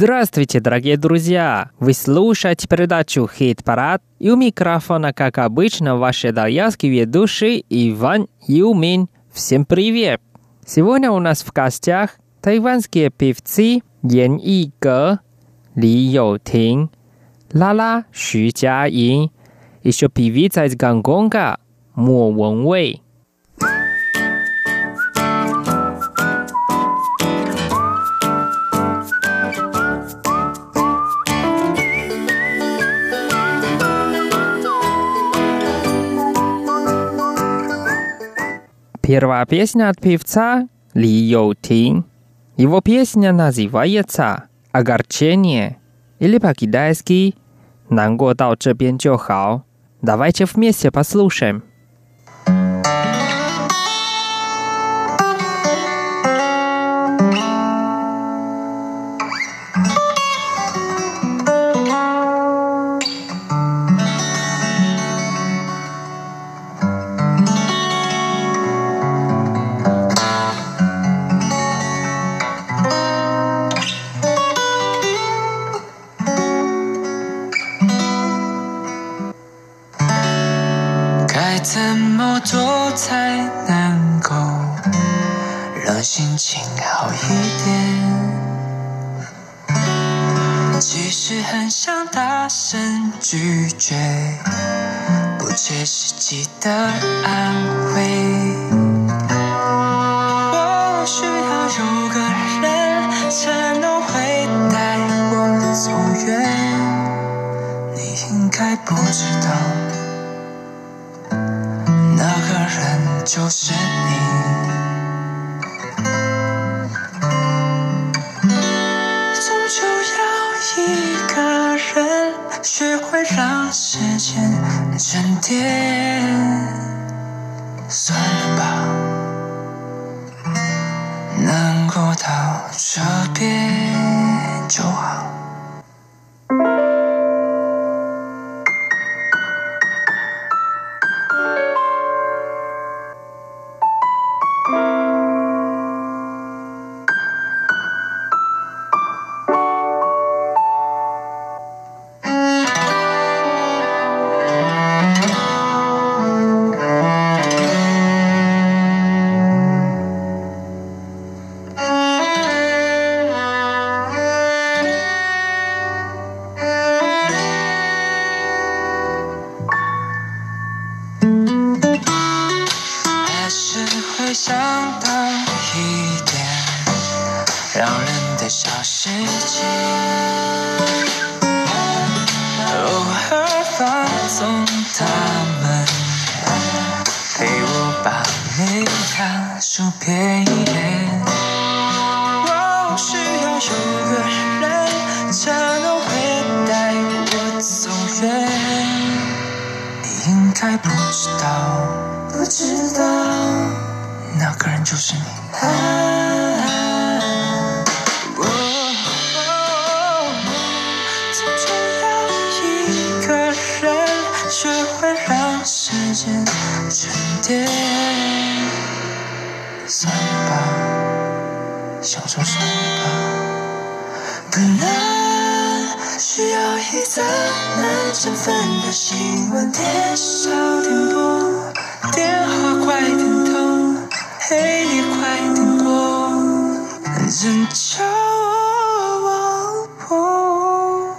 Здравствуйте, дорогие друзья! Вы слушаете передачу «Хит-парад», и у микрофона, как обычно, ваш итальянский ведущий Иван Юмин. Всем привет! Сегодня у нас в гостях тайванские певцы Ян Иге, Ли Йоутин, Лала Xu Jiayin, еще певица из Гонконга Мо Вэнвэй. Первая песня от певца Ли Йоутин. Его песня называется «Огорчение» или по-китайски «难过到这边就好». Давайте вместе послушаем. 怎么做才能够让心情好一点？其实很想大声拒绝不切实际的安慰。我需要有个人才能会带我走远，你应该不知道那个人就是你，终究要一个人学会让时间沉淀。算了吧，能够到这边就好。想到一点让人的小事情，偶尔放纵他们，陪我把每趟数遍一遍。我需要有个人才能会带我走远，你应该不知道那个人就是你。终究要一个人学会让时间沉淀。算了吧，享受算了吧，可能需要一则难振奋的新闻，电少点播，电话快点通，黑夜快点过，人叫我不，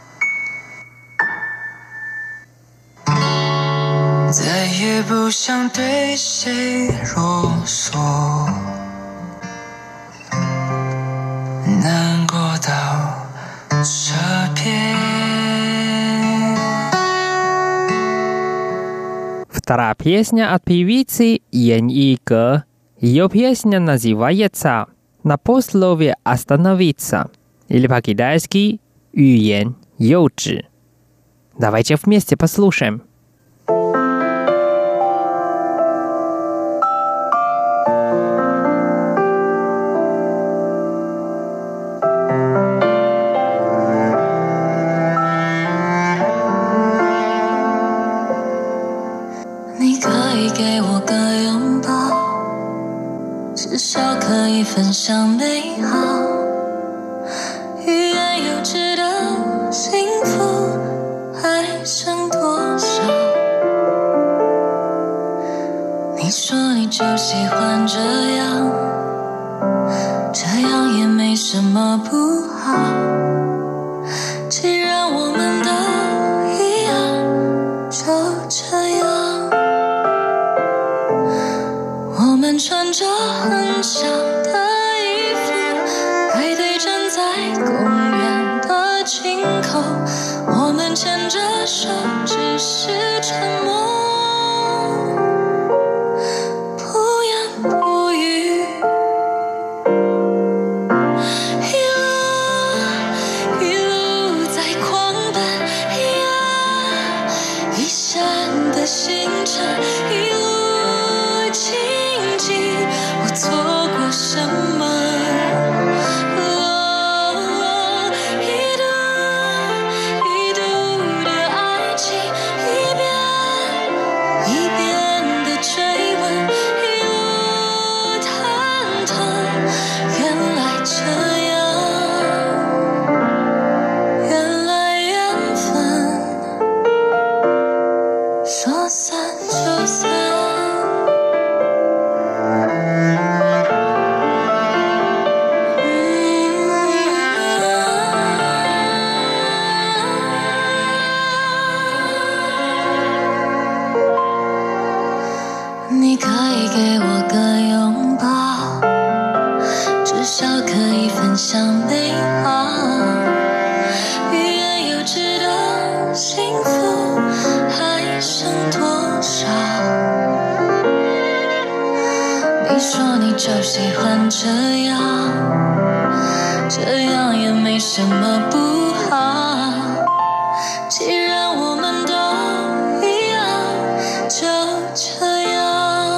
再也不想对谁啰嗦，难过到这边。 Вторая песня от певицы Ян Иге. Ее песня называется «На полусловие остановиться» или по-китайски «欲言又止». Давайте вместе послушаем. 口，我们牵着手，只是沉默，不言不语。一路在狂奔，一闪的星辰，一路荆棘，我错过什么？你可以给我个拥抱，至少可以分享美好。欲言又止的幸福还剩多少？你说你就喜欢这样，这样也没什么不好。既然我们都一样，就这样。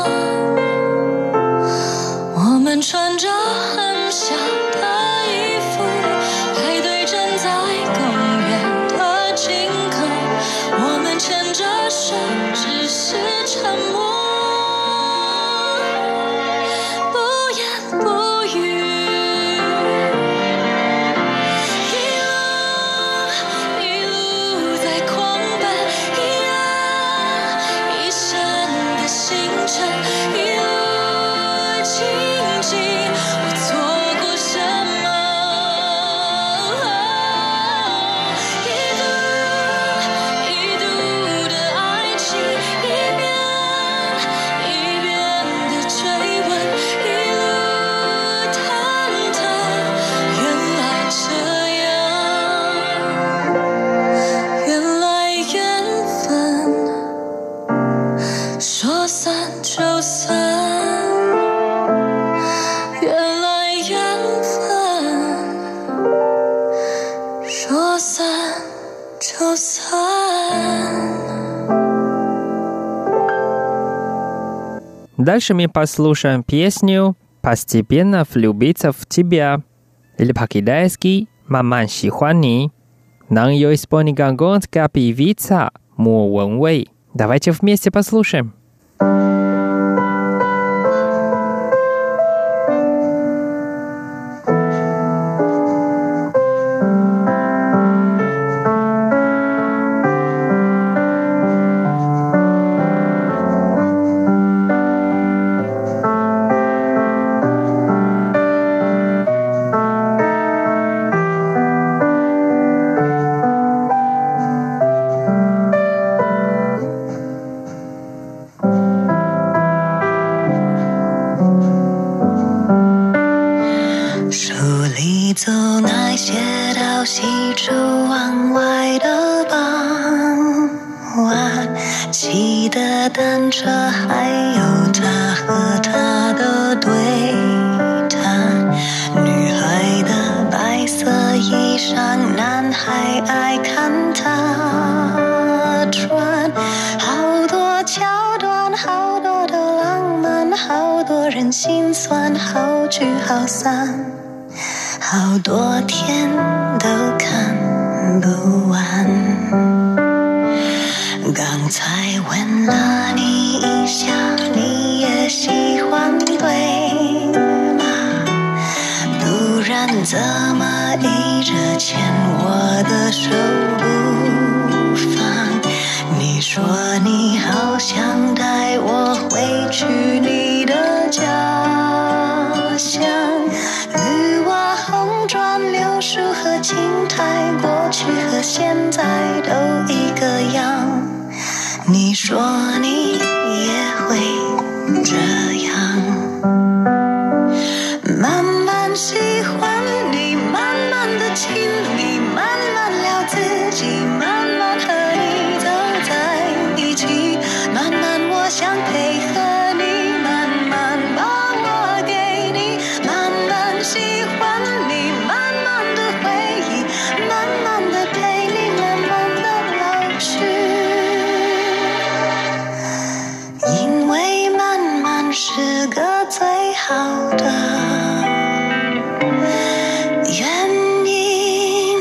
我们穿着很小的衣服，排队站在公园的尽头，我们牵着手，只是沉默，不言不语。一路在狂奔，一闪的星辰，一路荆棘，我错过什么？一度的爱情，一遍的追问，一路忐忑，原来这样，原来缘分说散就散。说散就散。 Дальше мы послушаем песню «Постепенно влюбиться в тебя» или по-китайски «慢慢喜欢你». Нам ее исполнит гонконгская певица Мо Вэнвэй. Давайте вместе послушаем. 走那些到西出望外的傍晚，骑的单车，还有他和她的对谈。女孩的白色衣裳，男孩爱看她穿。好多桥段，好多的浪漫，好多人心酸，好聚好散。好多天都看不完。刚才问了你一下，你也喜欢对吗？不然怎么一直牵我的手不放？你说你好想带我回去你的家乡。柳树和青苔，过去和现在都一个样。你说你也会这样，慢慢喜欢你，慢慢的亲你，慢慢聊自己，慢慢和你走在一起，慢慢我想配合你，慢慢把我给你，慢慢喜欢你，慢慢的回忆，慢慢的陪你，慢慢的老去，因为慢慢是个最好的原因。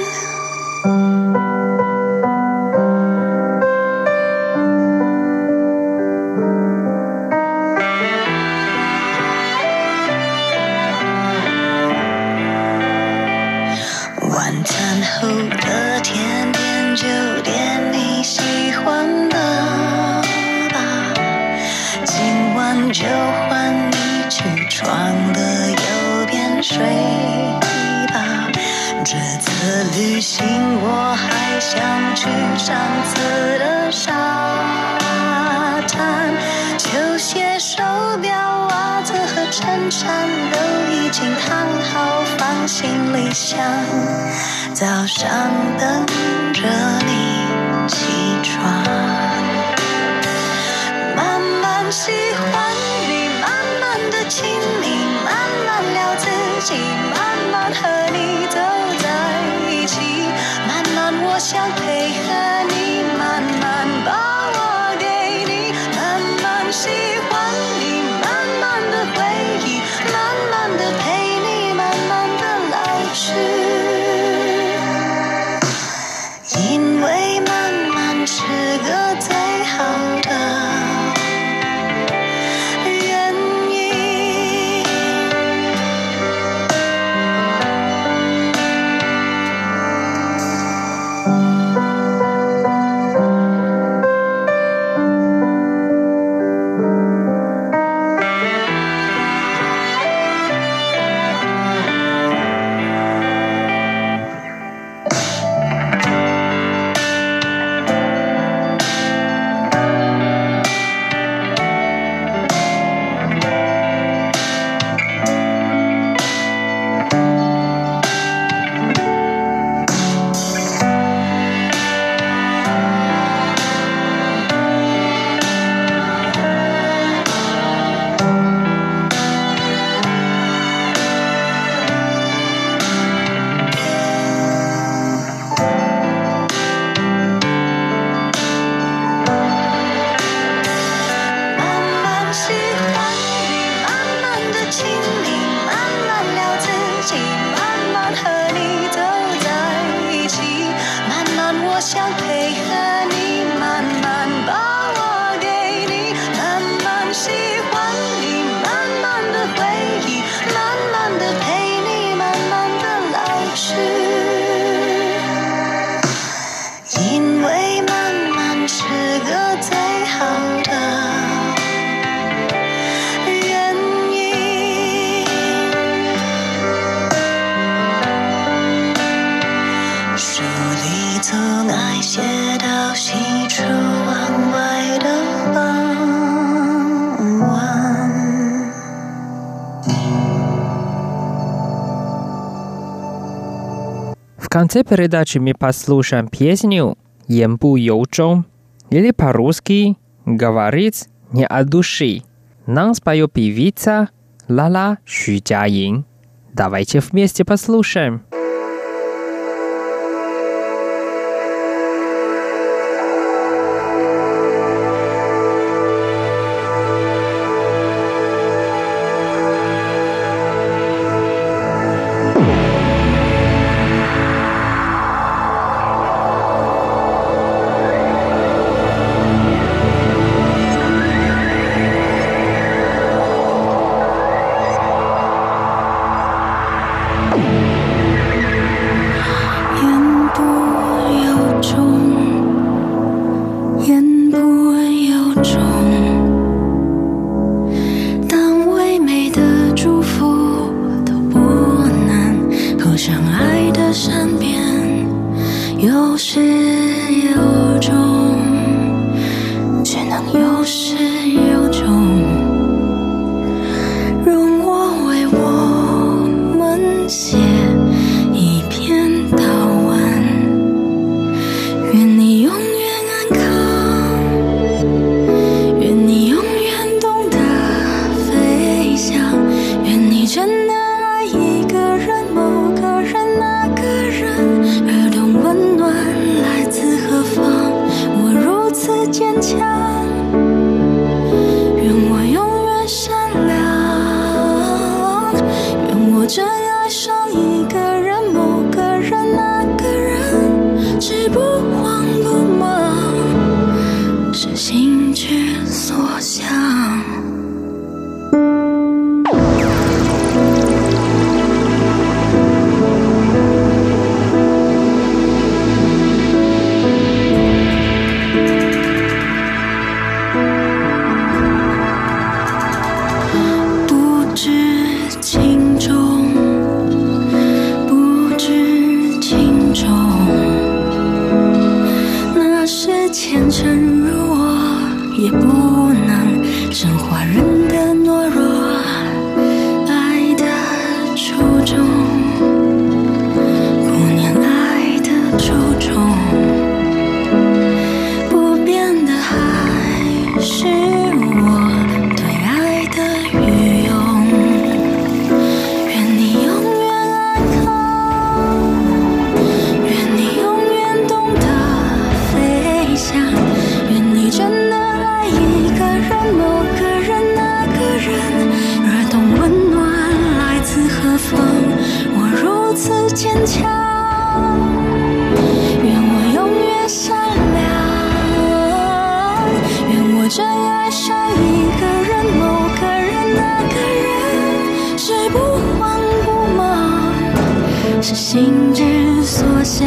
晚餐后的甜点就点你喜欢的吧，今晚就换你起床的右边睡吧，这次旅行我还想去上次的沙滩，球鞋手表袜子和衬衫都已经烫好放行李箱，早上等着你起床，慢慢喜欢你，慢慢的亲密，慢慢聊自己，慢慢和你走在一起，慢慢我想配合你，慢慢把我给你，慢慢喜欢你，慢慢的回忆，慢慢的陪你，慢慢的老去，因为慢慢是个最好的原因。 В конце передачи мы послушаем песню «Янбу Йоучжоу» или по-русски «Говорить не от души». Нам споет певица Лала Xu-Jiaying. Давайте вместе послушаем. 有始有终，只能有始有终。容我为我们写一篇祷文， 是不慌不忙，是心之所向。虔诚如我，也不能升华人的懦弱，爱的初衷，顾念爱的初衷，不变的还是我对爱的愚用。愿你永远安康，愿你永远懂得飞翔，愿你真的爱一个人，某个人，那个人，而懂温暖来自何方。我如此坚强，愿我永远善良，愿我真爱上一个人，某个人，那个人，是不慌不忙，是心之所向。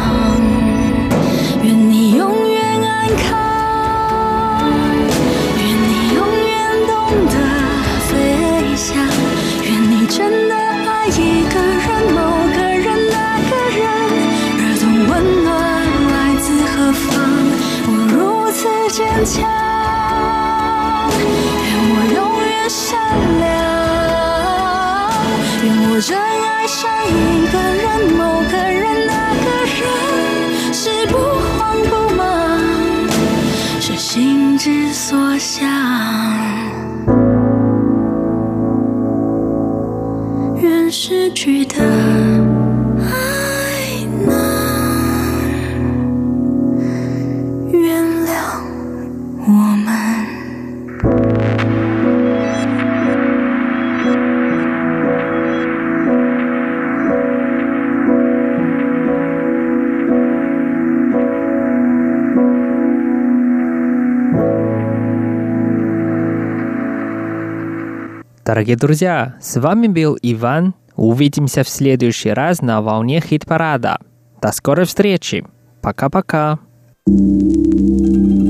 愿你永远安康，愿你永远懂得飞翔，愿你真的爱一个人，某个人，那个人，而懂温暖来自何方。我如此坚强，愿我永远善良，愿我真爱上一个人，某个人，那个人，是不慌不忙，是心之所向。愿失去的爱能原谅我们。 Дорогие друзья, с вами был Иван. Увидимся в следующий раз на волне хит-парада. До скорой встречи. Пока-пока.